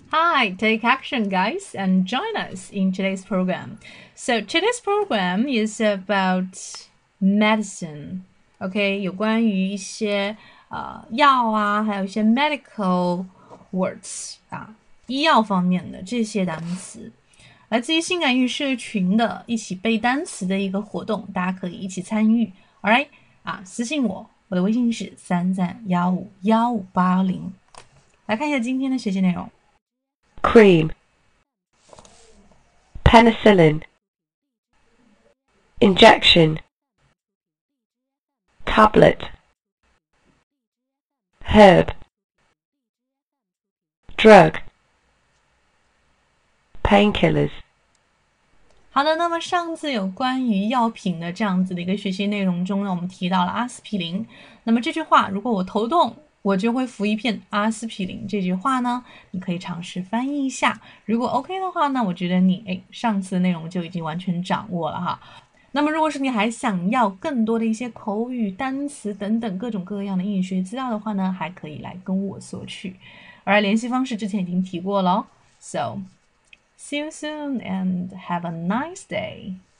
Hi, take action, guys, and join us in today's program. So, today's program is about medicine. OK，有关于一些药啊，还有一些 medical words 啊，医药方面的这些单词，来自于性感语社群的一起背单词的一个活动，大家可以一起参与。Alright，私信我，我的微信是33151580。来看一下今天的学习内容。 Cream, penicillin, injection, tablet, herb, drug, painkillers. 好的，那么上次有关于药品的这样子的一个学习内容中呢，我们提到了阿司匹林。那么这句话，如果我头痛，我就会服一片阿司匹林。这句话呢，你可以尝试翻译一下。如果 OK 的话呢，我觉得你上次的内容就已经完全掌握了哈。那么如果是你还想要更多的一些口语单词等等各种各样的英语学资料的话呢，还可以来跟我索取。而联系方式之前已经提过了。So see you soon and have a nice day.